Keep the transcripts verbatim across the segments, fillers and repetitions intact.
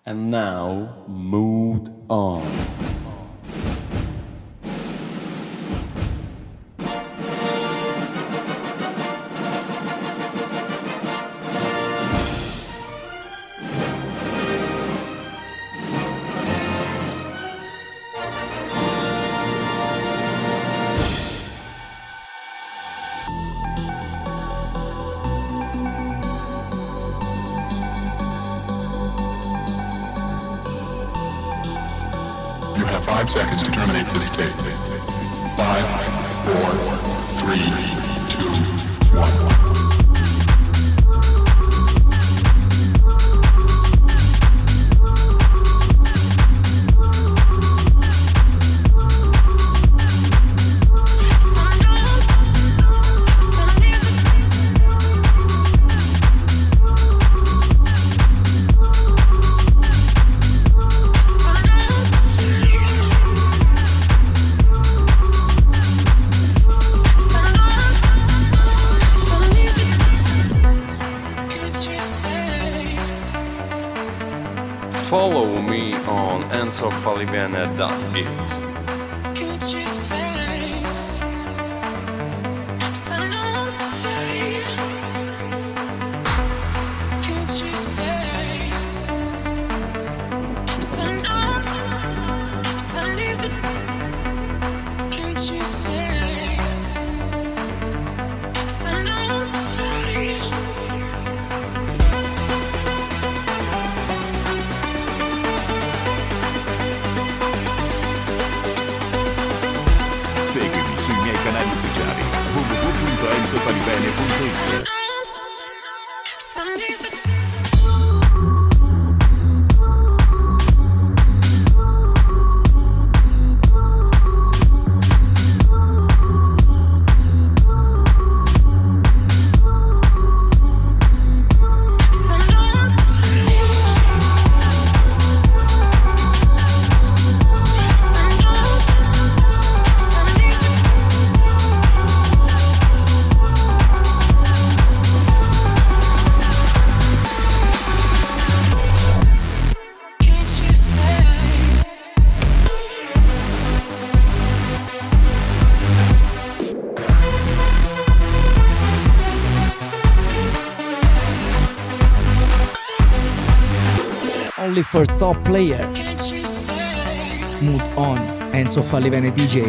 And now, Mood On. You have five seconds to terminate this tape. Five, four, three, two, one. Follow me on enzo falivene dot it. Seguimi sui miei canali ufficiali w w w punto enzo falivene punto it. Only for top player. Mood On, Enzo Falivene D J.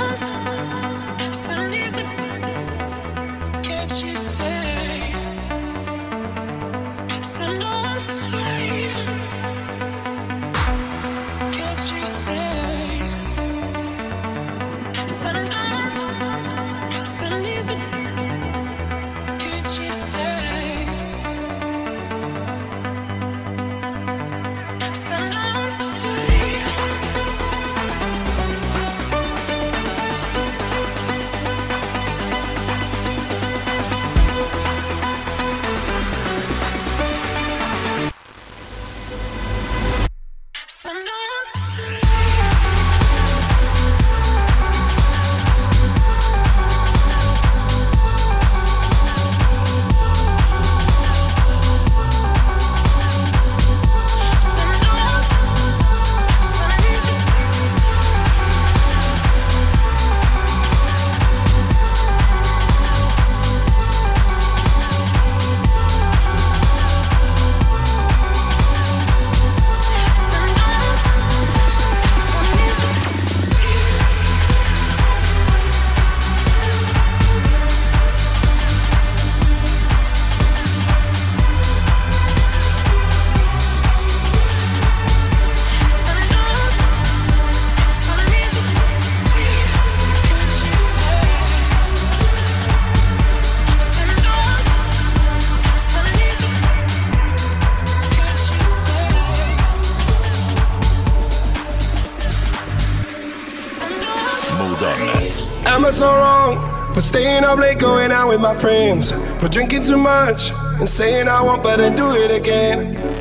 Am I so wrong for staying up late, going out with my friends, for drinking too much and saying I won't, but then do it again?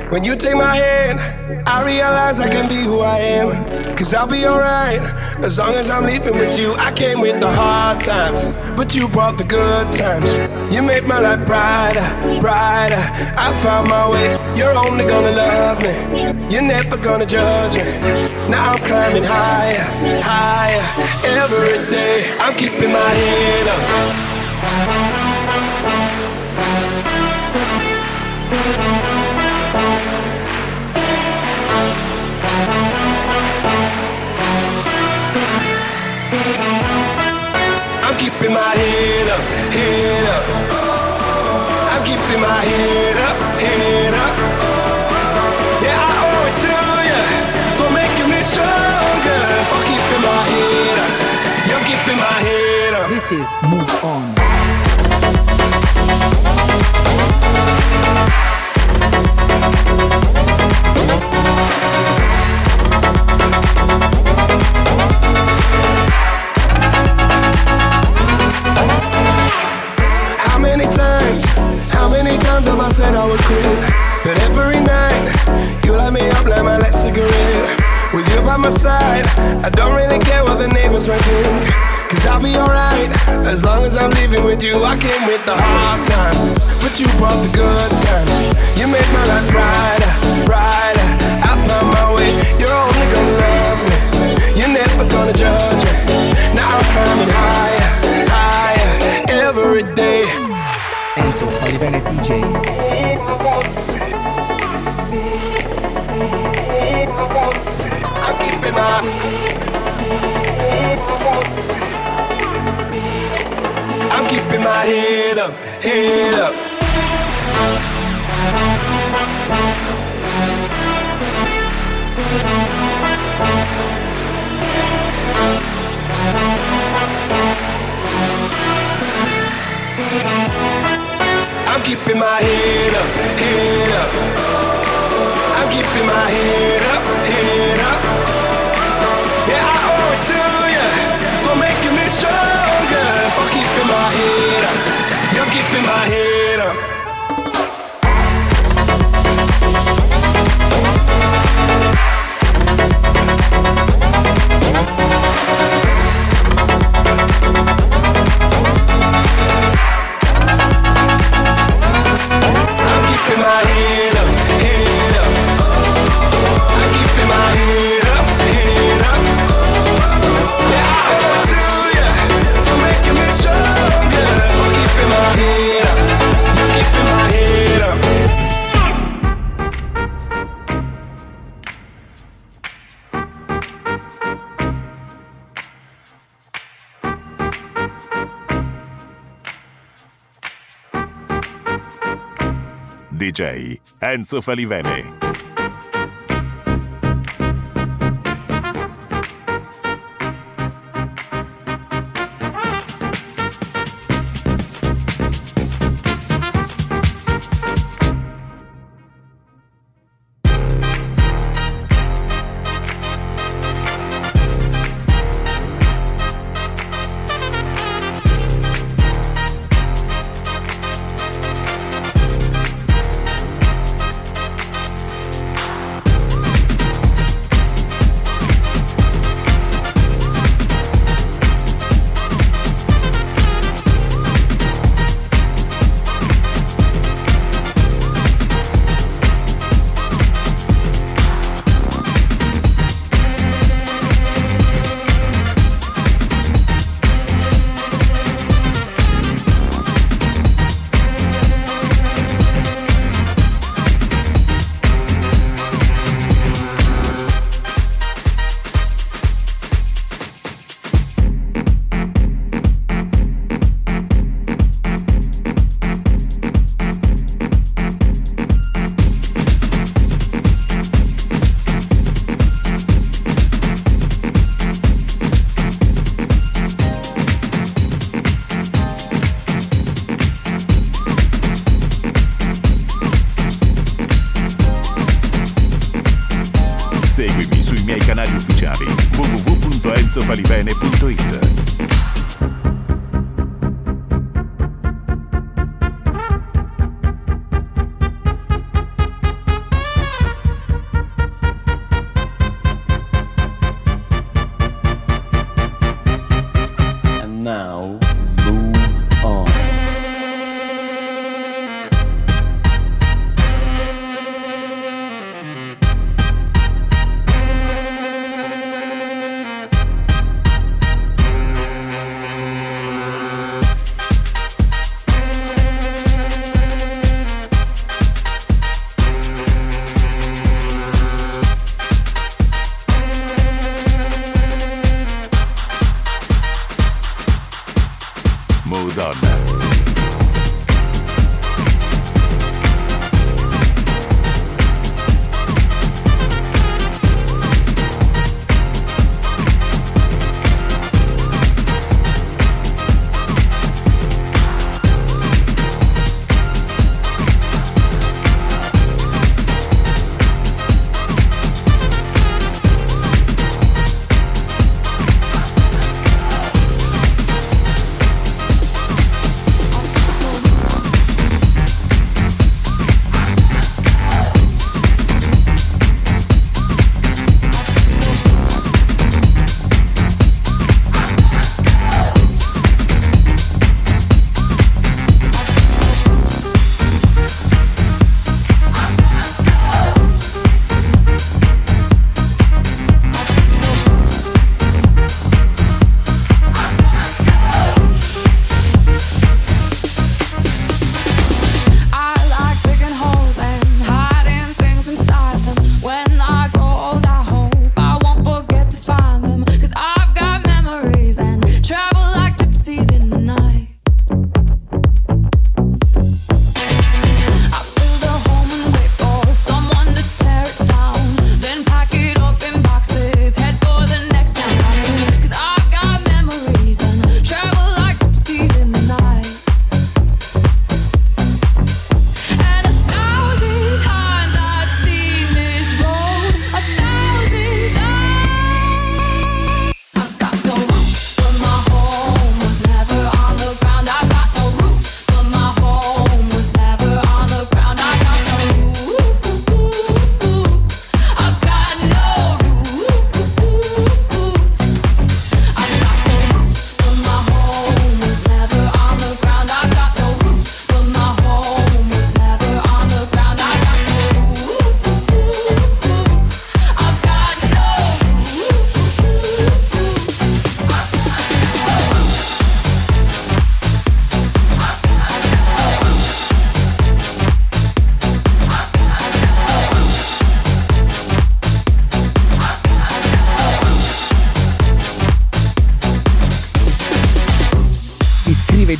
When you take my hand, I realize I can be who I am. Cause I'll be alright, as long as I'm leaving with you. I came with the hard times, but you brought the good times. You made my life brighter, brighter. I found my way, you're only gonna love me. You're never gonna judge me. Now I'm climbing higher, higher. Every day, I'm keeping my head up. I'm keeping my head up, head up. I'm keeping my head up, head up. Yeah, I owe it to you for making me stronger, for keeping my head up. You're keeping my head up. This is Move On. I said I would quit, but every night you light me up like my last cigarette. With you by my side, I don't really care what the neighbors might think. Cause I'll be alright, as long as I'm living with you. I came with the hard times, but you brought the good times. You made my life brighter, brighter. I found my way, you're only gonna love me. You're never gonna judge me. Now I'm climbing higher, higher, every day. Enzo Falivene D J. I'm keeping my I'm keeping my head up, head up. I'm keeping my head up, head up. I'm keeping my head up, head up. Yeah, I owe it to you for making me stronger, for keeping my head up. You're keeping my head up. D J Enzo Falivene. Seguimi sui miei canali ufficiali w w w punto enzo falivene punto it.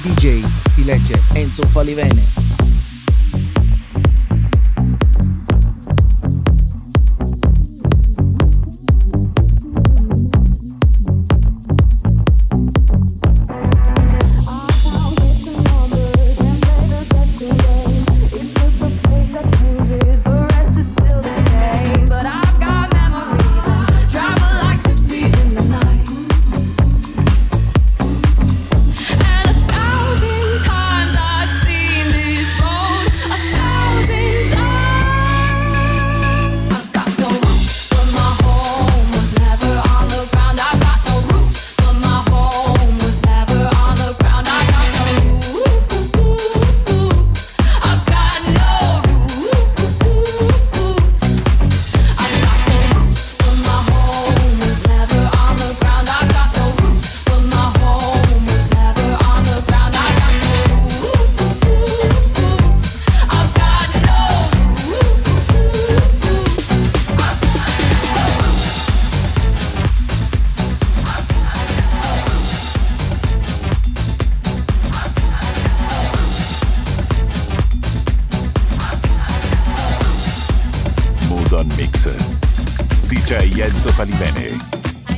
D J si legge Enzo Falivene. D J Enzo Falivene.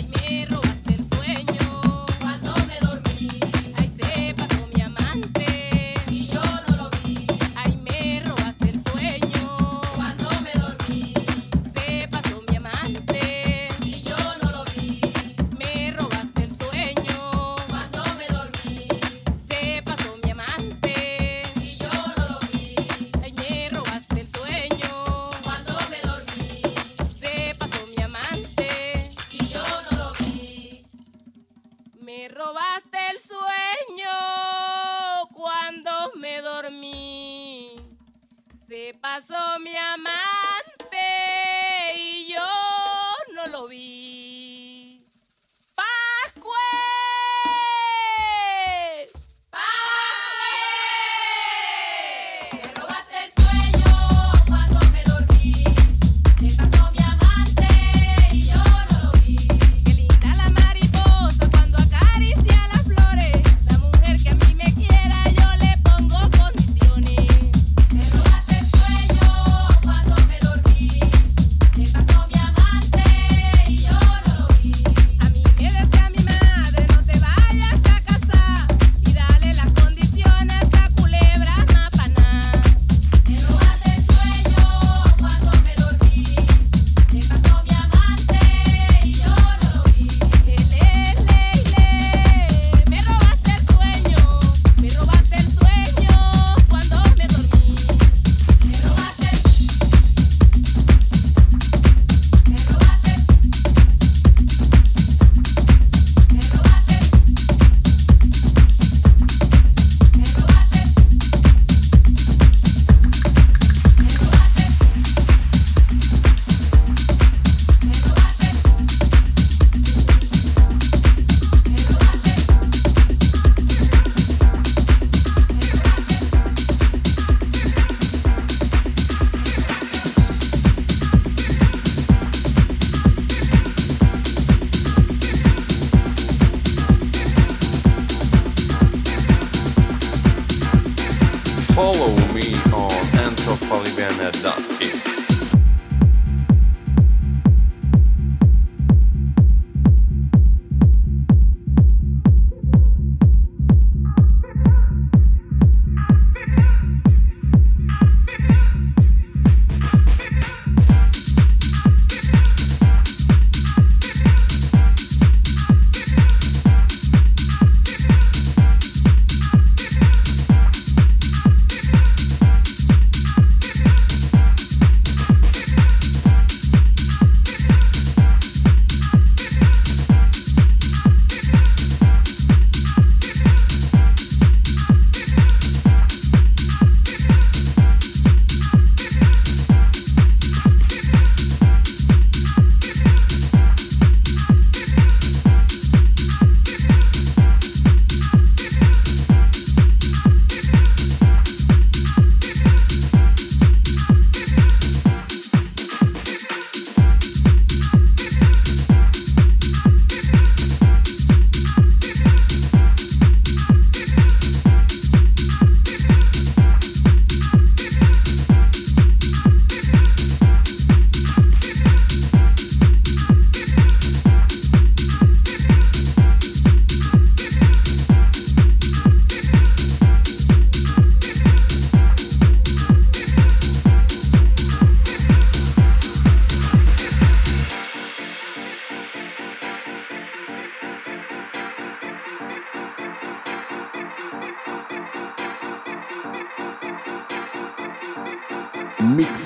Pasó mi amante y yo no lo vi. ¡Pascue! ¡Pascue! Me robaste el sueño cuando me dormí. Se pasó mi amante y yo no lo vi. Qué linda la mariposa cuando acaricia las flores. La mujer que a mí me quiera yo le pongo condiciones. Me robaste el sueño cuando me dormí.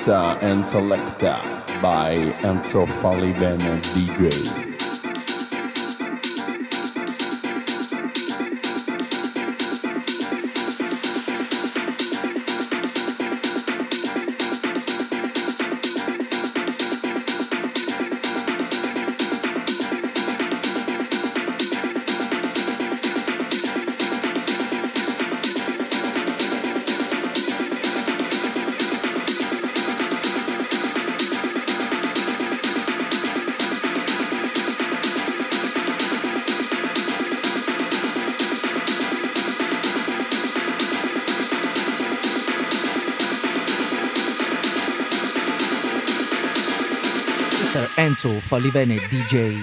Mixa and Selecta by Enzo Falivene D J. Enzo Falivene D J.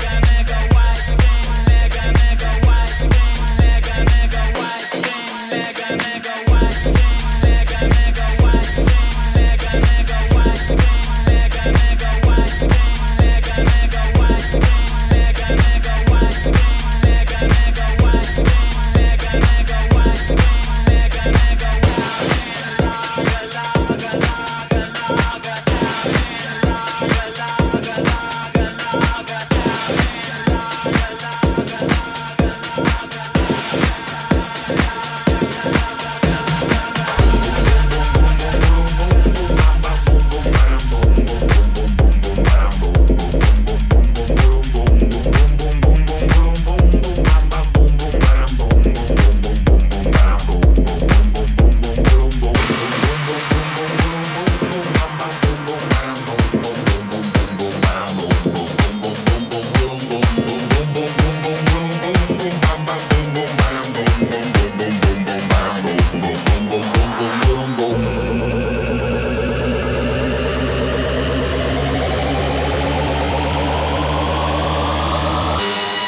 Mega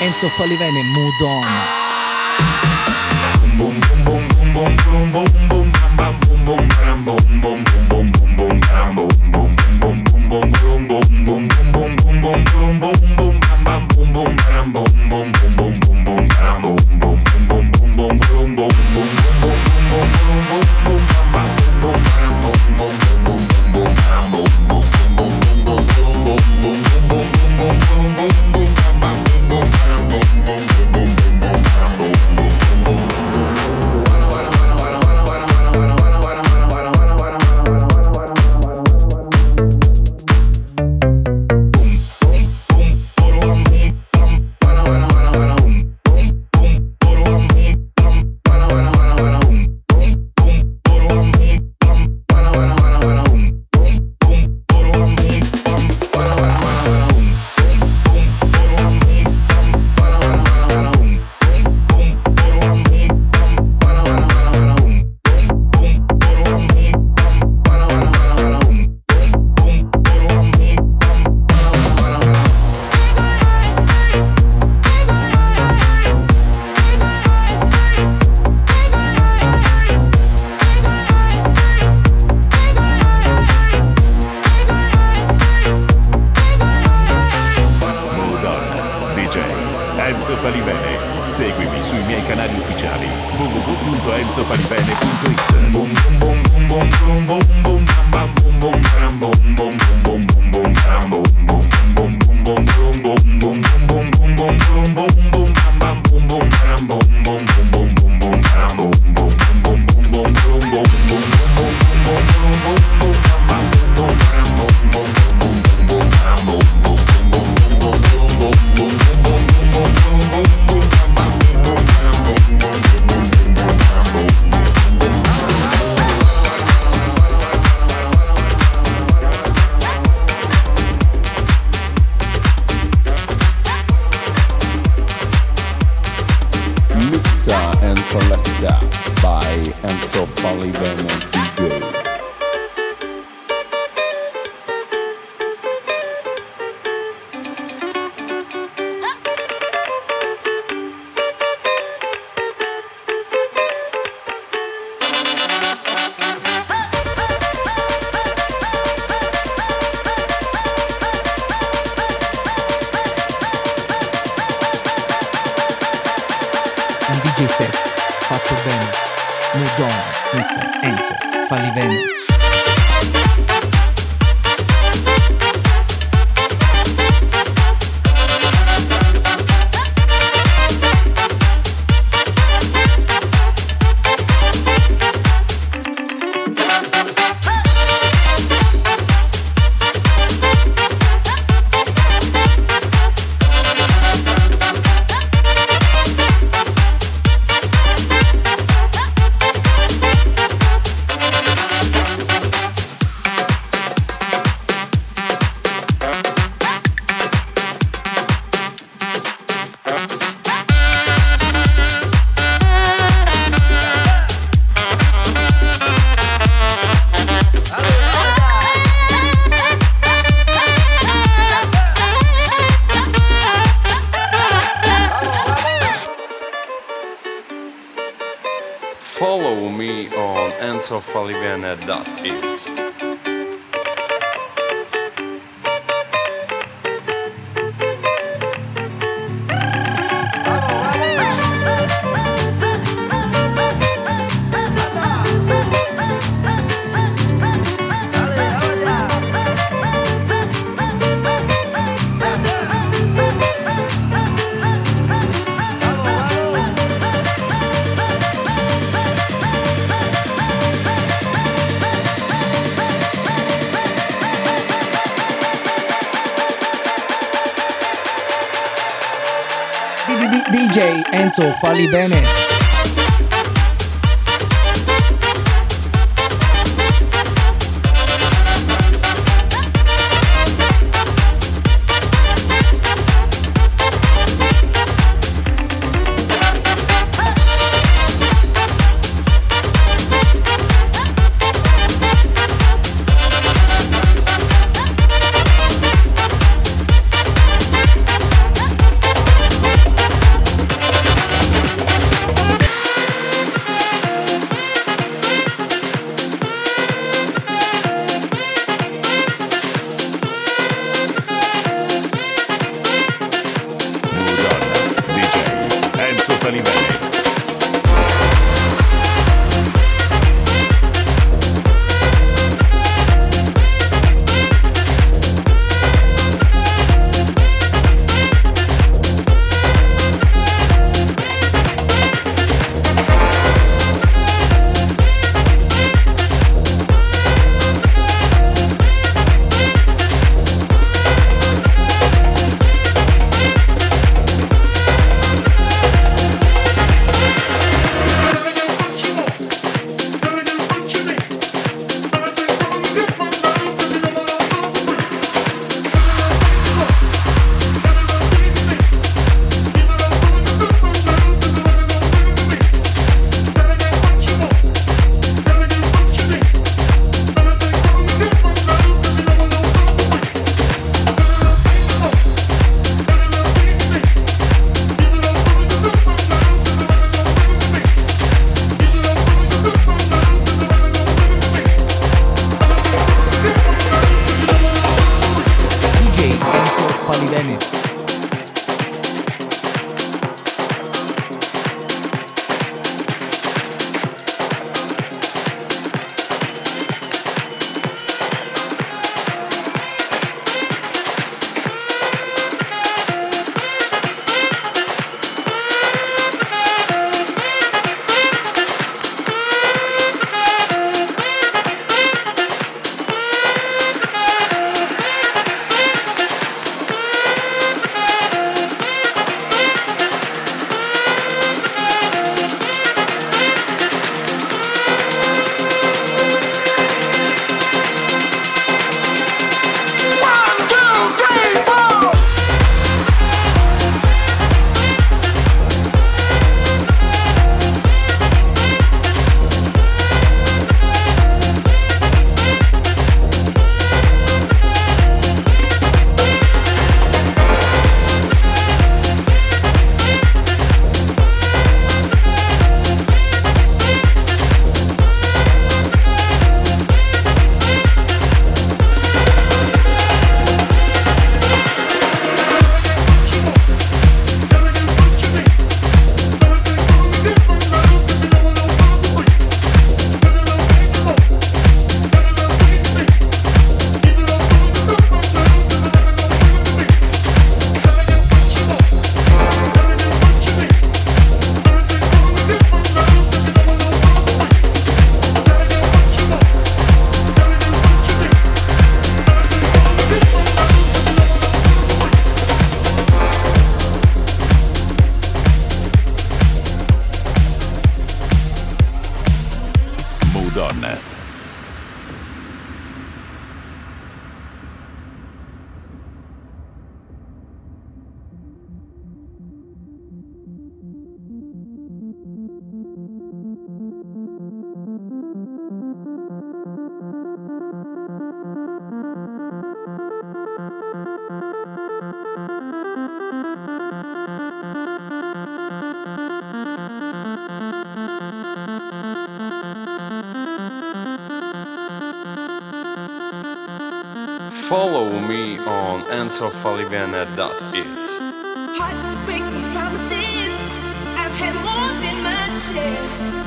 Enzo Falivene, Mood On. Enzo Falivene. Seguimi sui miei canali ufficiali w w w punto enzo falivene punto it. And selected by Enzo Falivene D J. Un D J set fatto bene. Mood On, mister Enzo Falivene. Follow me on enzo falivene dot it. D J Enzo Falivene. follow me on enzo falivene dot it. Heartbreaks and promises, I've had more than my share.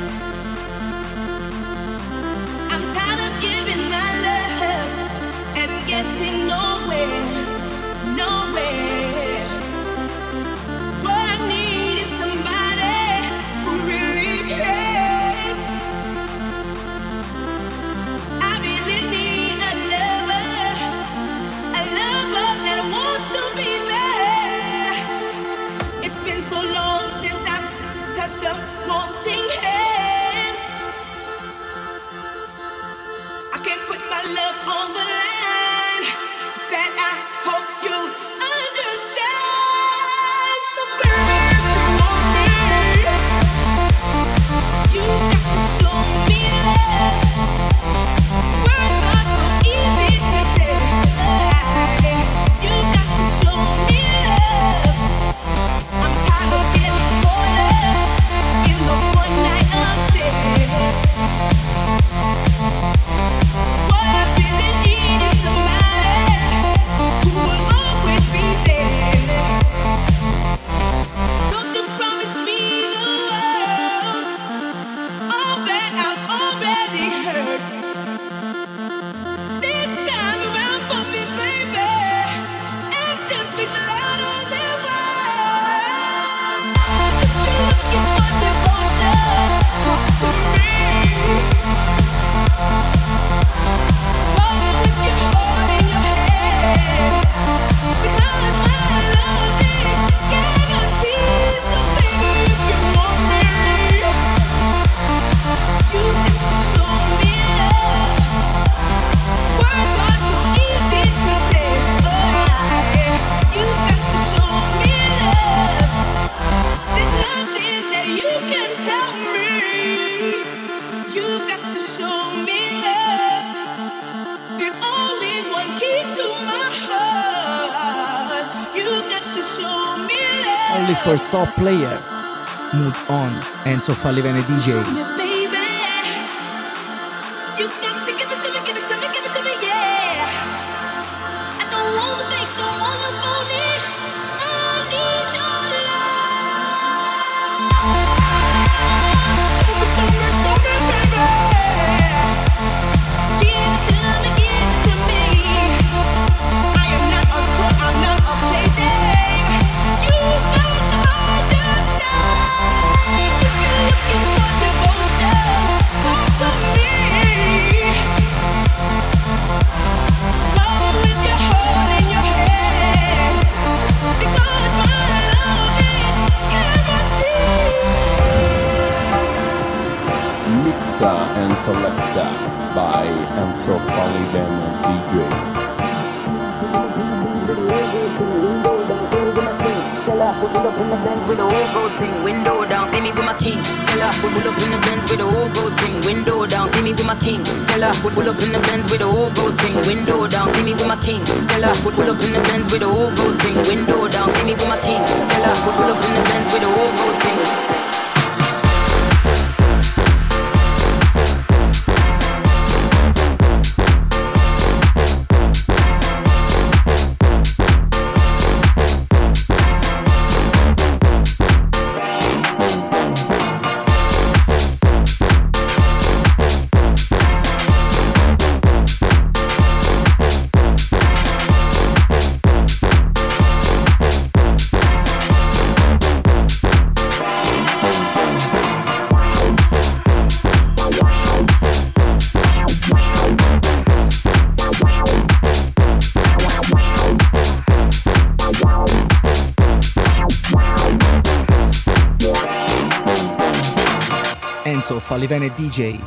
I'm tired of giving my love and getting nowhere, nowhere. What I need is somebody who really cares. I really need a lover, a lover that wants to be there. It's been so long since I've touched a wanting hand. I can't put my love on the line. That I hope you understand. So baby, on me, you got to show me love. Words are so easy to say. You got to show me love. I'm tired of getting caught up in those one night affairs. What I really need is somebody who will always be there. Don't you promise me the world, all that I've already heard. This time around for me, baby, action speaks louder than words. If you're looking for devotion, talk to me. Come with your heart in your hand, because my love is guaranteed. So baby, if you want me, you got to show me love. Words are so easy to say. You got to show me love. There's nothing that you can tell me. You got to show me love. There's only one key to my heart. You got to show me love. Only for top player. Mood on, Enzo Falivene D J. Me, baby. You got to give it to me, give it to me, give it to me, yeah. I don't want things, don't want to phone it. I need your love. Show me, show me, show me, baby. Give it to me, give it to me. I am not a toy, I'm not a plaything. You got to understand. If you're looking for devotion, talk to me. Come with your heart in your hand, because my love is guaranteed. Mixa and selecta by Enzo Falivene D J. Stella, we pull up in the Benz with a whole gold thing, window down, see me with my king. Stella, we pull up in the Benz with a whole gold thing, window down, see me with my king. Stella, we pull up in the Benz with a whole gold thing, window down, see me with my king. Stella, we pull up in the Benz with a whole gold thing, window down, see me with my king. Stella, we pull up in the Benz with a whole gold thing. Enzo Falivene D J.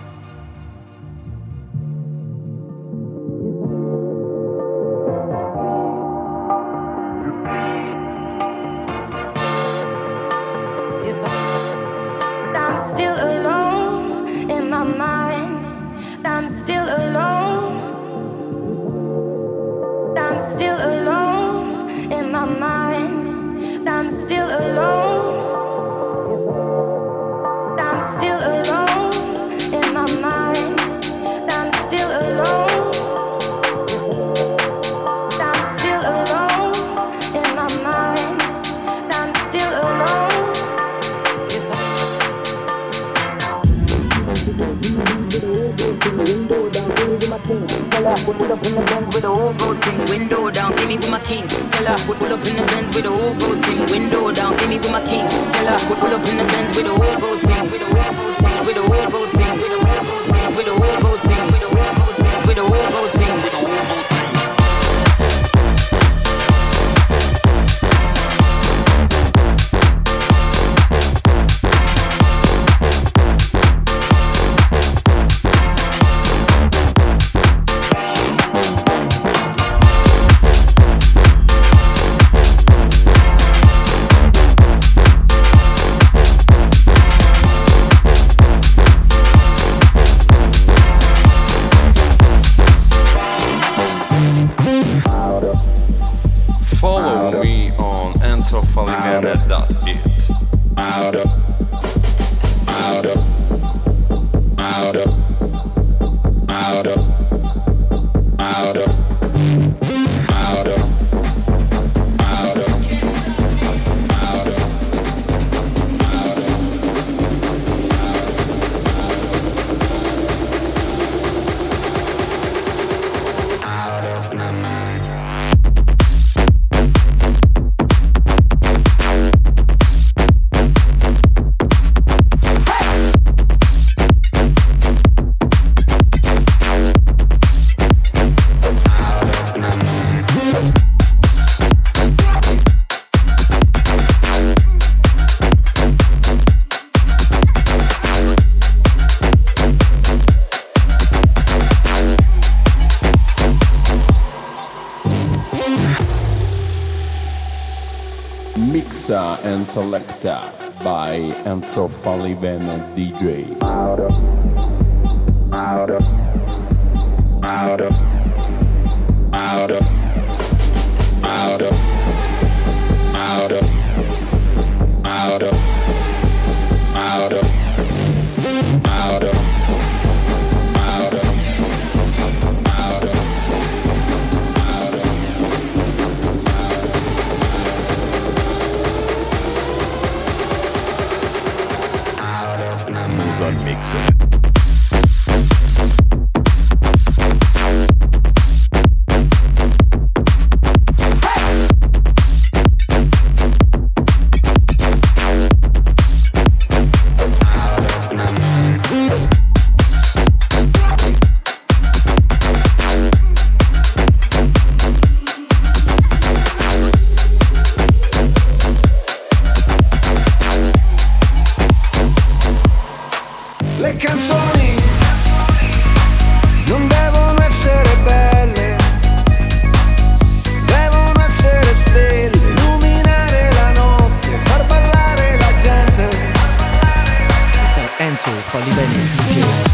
I'm still alone in my mind. I'm still alone. I'm still alone in my mind. I'm still alone. I'm still alone in my mind. I'm still alone. thing, window down. See me with my king, Stella. Pull pull up in the Benz with a whole gold thing, window down. See me with my king, Stella. Pull pull up in the Benz with a whole gold thing, with a whole gold thing, with a whole gold thing, with a whole gold thing, with a whole gold thing, with a whole gold thing, with a whole gold thing, with a whole gold thing. Follow me on enzo falivene dot it. Out of, out of, out of, out of, out of, out of, out of, out of, out of, out of my mind. Mixa and selecta by Enzo Falivene D J. Out of, out of, out of, out of, out of, out of, out of, out of, out of, out of, out of, out of. Mood on Mixer. Le canzoni non devono essere belle, devono essere stelle, illuminare la notte, far ballare la gente. Questo è Enzo Falivene D J.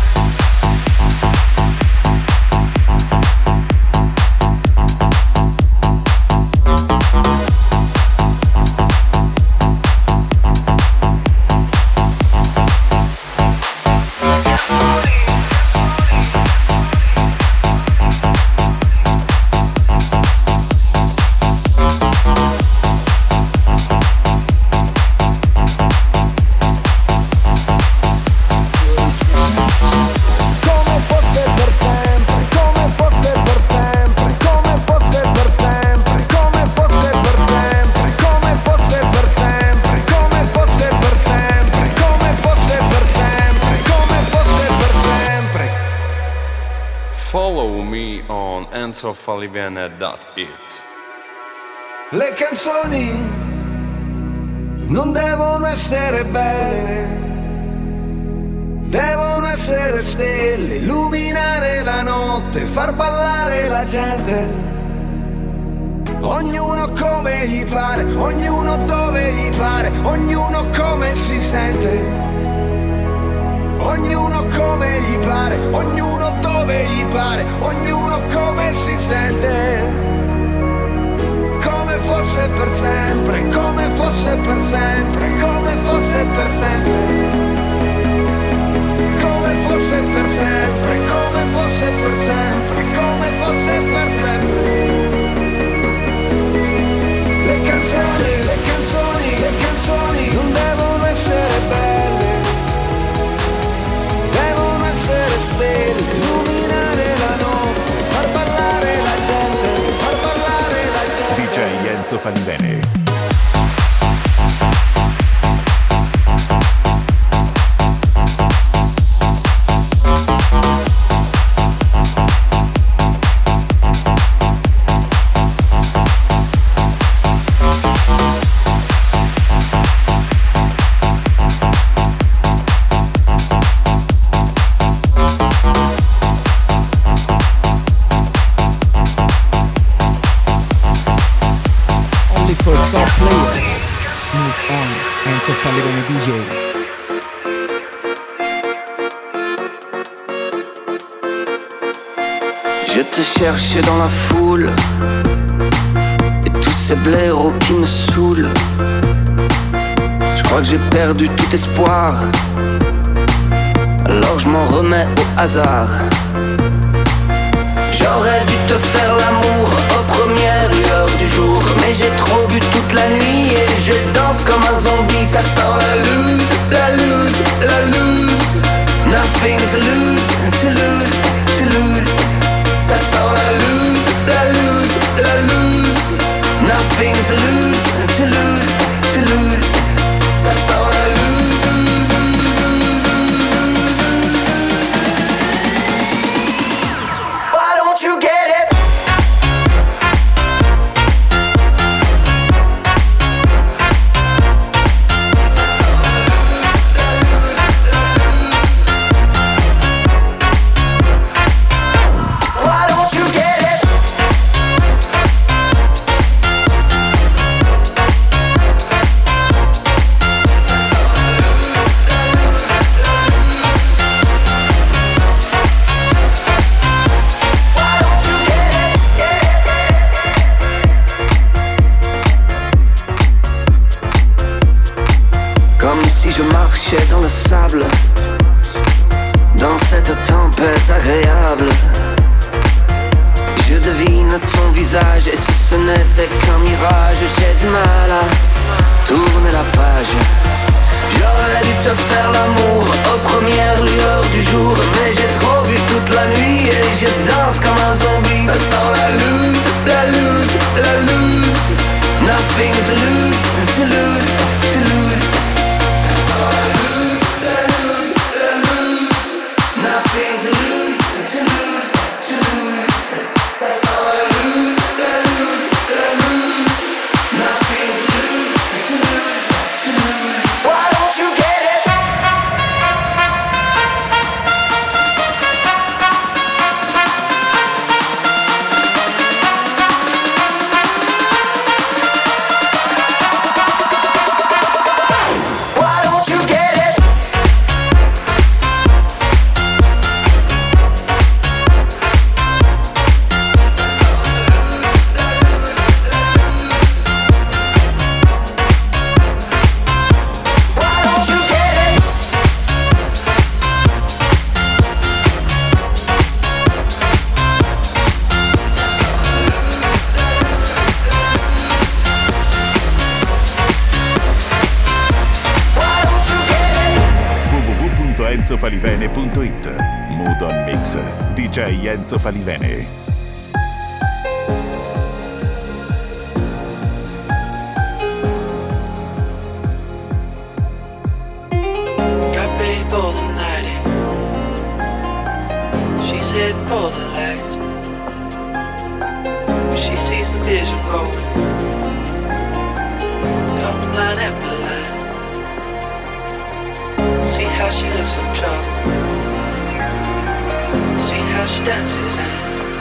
Follow me on enzo falivene dot it. Le canzoni non devono essere belle, devono essere stelle, illuminare la notte, far ballare la gente. Ognuno come gli pare, ognuno dove gli pare, ognuno come si sente. Ognuno come gli pare, ognuno dove gli pare, ognuno come si sente. Come fosse per sempre, come fosse per sempre, come fosse per sempre. Come fosse per sempre, come fosse per sempre, come fosse per sempre. Le canzoni, le canzoni, le canzoni non devono essere belle, devono essere stelle, illuminare la notte, far ballare la gente, Move On, Enzo Falivene D J. Je te cherchais dans la foule et tous ces blaireaux qui me saoulent. Je crois que j'ai perdu tout espoir, alors je m'en remets au hasard. J'aurais dû te faire l'amour aux premières lueurs du jour, mais j'ai trop bu toute la nuit et je danse comme un zombie. Ça sent la loose, la loose, la loose. Nothing to lose, to lose, to lose. Ça sent la loose, la loose, la loose. Nothing to lose, to lose, to lose. Ça sent la loose. Why don't you get it? Why don't you get it? Why don't you get it? Comme si je marchais dans le sable, dans cette tempête agréable. Je devine ton visage et si ce n'était qu'un mirage, j'ai du mal à tourner la page. J'aurais dû te faire l'amour aux premières lueurs du jour, mais j'ai trop bu toute la nuit et je danse comme un zombie. Ça sent la loose, la loose, la loose. Nothing to lose, to lose, to lose. Ça sent la loose, la loose, la loose. Nothing to lose, to lose, to lose. Ça sent la loose, la loose, la loose. Nothing to lose, to lose, to lose. Why don't you get it? Why don't you get it? Why don't you get it? Why don't you get it? w w w punto enzo falivene punto it. Mood on Mix, D J Enzo Falivene. Got paid for the night. She's heading for the lights. She sees the vision going. Coming line after line. See how she looks in trouble. See how she dances and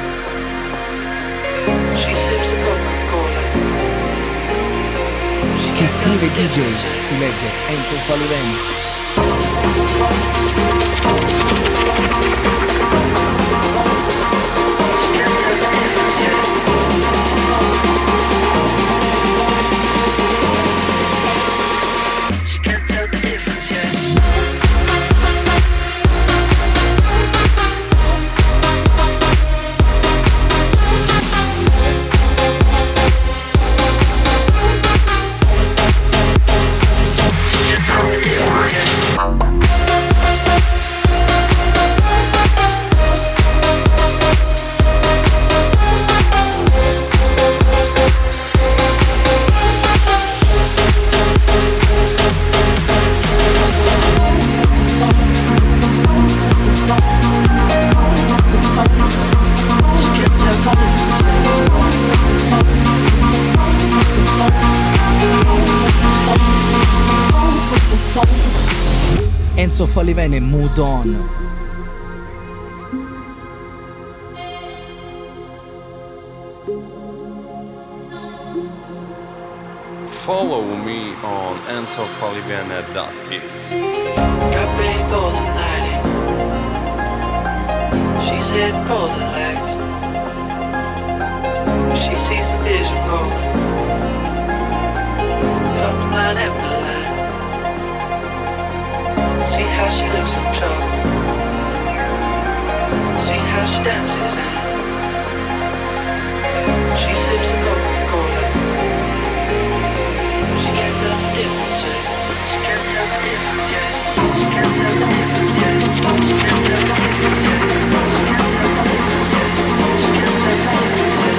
she sips the Coca-Cola. She Si can't tell scrive the D J, difference. si legge Enzo Falivene. She can't tell the difference yet. Enzo Falivene, Mood On. follow me on enzo falivene dot it. Got ready for the night. She's heading for the light. She sees the vision going. Up line after line. See how she looks in trouble. See how she dances and she sips the Coca-Cola. She can't tell the difference yet. She can't tell the difference yet. She can't tell the difference yet. She can't tell the difference yet. She can't tell the difference yet. She can't tell the difference yet.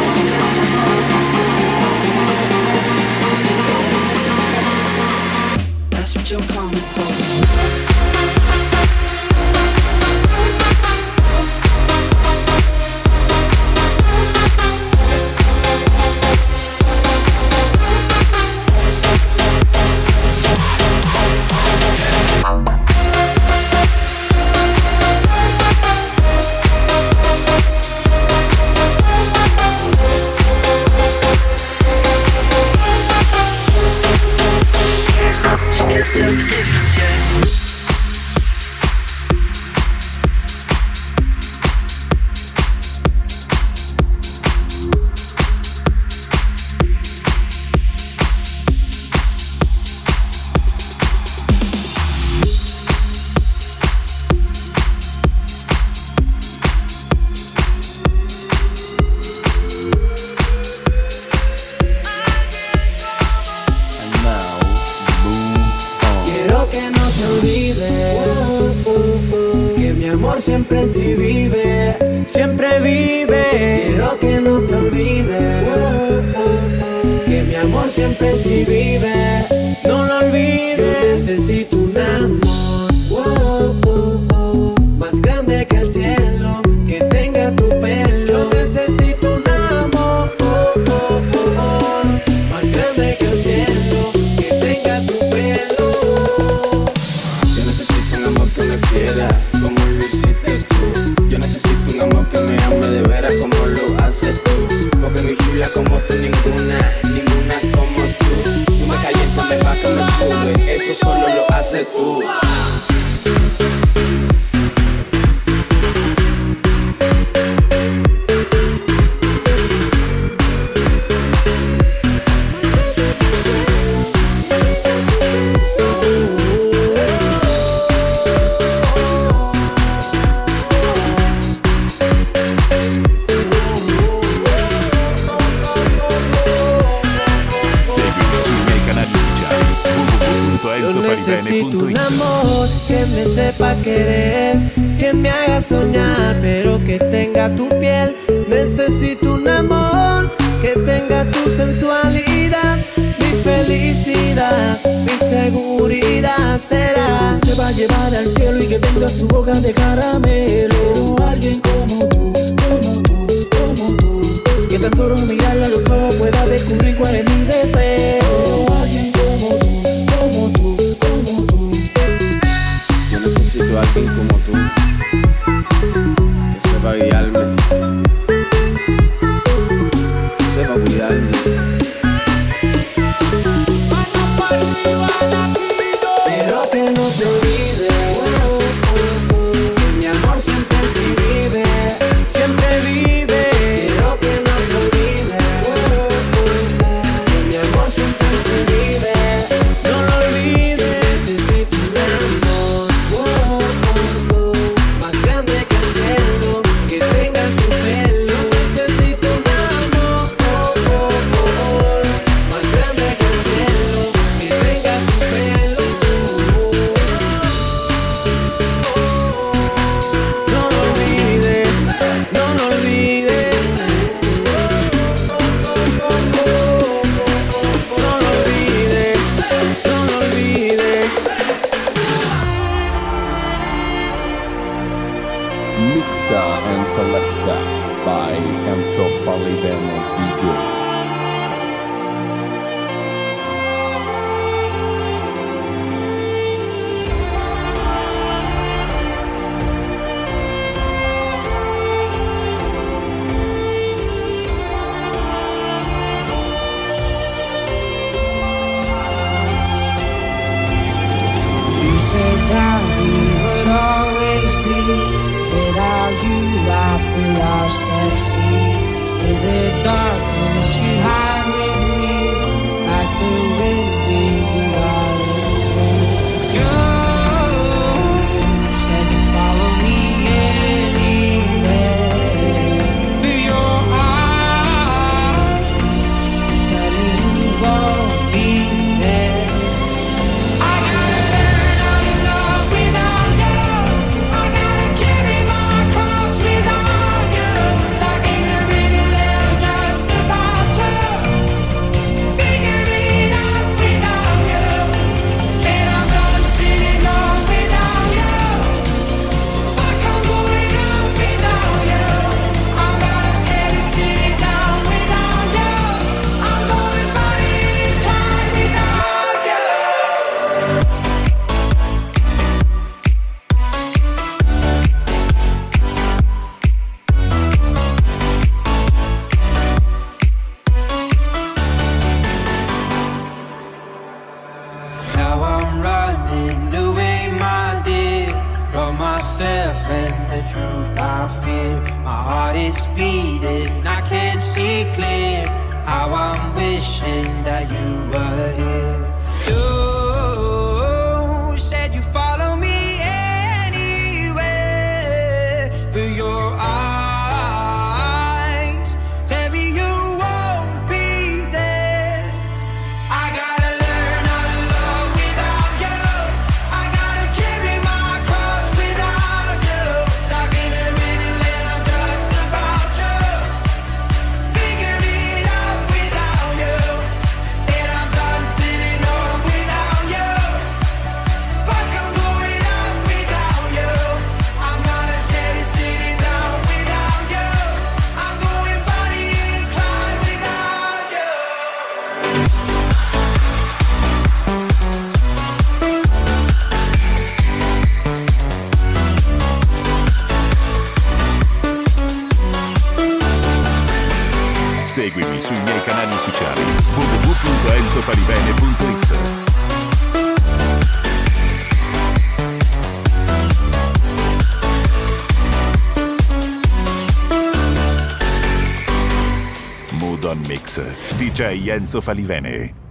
That's what you're coming for. Siempre en ti vive, siempre vive. Quiero que no te olvides, que mi amor siempre en ti vive. No lo olvides, necesito un amor más grande que el cielo, que tenga tu pelo. Yo necesito un amor más grande que el cielo, que tenga tu pelo. Yo necesito un amor que me quiera como lo hiciste tú. Yo necesito un amor que me ame de veras como lo haces tú. Porque mi chula como tú ninguna, ninguna como tú. Tú me calientas, me bajas, me sube, eso solo lo haces tú. Necesito un amor que me sepa querer, que me haga soñar, pero que tenga tu piel. Necesito un amor que tenga tu sensualidad, mi felicidad, mi seguridad será. Te va a llevar al cielo y que tenga su boca de caramelo. Alguien como tú, como tú, como tú, que tan solo mirarla a los ojos pueda descubrir cuál es mi deseo. Alguien como tú, como tú, como tú. Yo necesito a alguien como tú, que sepa guiarme, que sepa cuidarme. Pero que no te olvides, que mi amor siempre en ti vive, siempre vive. Pero que no te olvides, que mi amor siempre en ti vive. No lo olvides, necesito un amor más grande que el cielo, que tenga tu pelo. Necesito un amor más grande que el cielo, que tenga tu pelo. No lo olvides, no lo olvides. No lo olvides, no lo olvides. Mixa and selecta by Enzo Falivene D J. feel lost at sea. In the darkness you hide with me, like the wind we be wild and free. You said you'd follow me anywhere, but your eyes tell me you won't be there. I gotta learn how to love without you. I gotta carry my cross without you. So I can't really live just about to figure it out without you. And I'm done sitting on without you. Fuck, I'm going out without you. I'm gonna tear this city down without you. I'm going body inclined without you. Now I'm running away, my dear, from myself and the truth I fear. My heart is beating, I can't see clear. How I'm wishing that you were here. You said you follow me anywhere, but your eyes tell me you won't be there. I gotta learn how to love without you. I gotta carry my cross without you. Stuck in a minute and I'm just about to figure it out without you. And I'm done sitting on without you. Fuck, I'm going out without you. I'm gonna tear this city down without you. I'm going body inclined without you. Seguimi sui miei canali ufficiali w w w punto enzo falivene punto it. Mood on Mix, D J Enzo Falivene.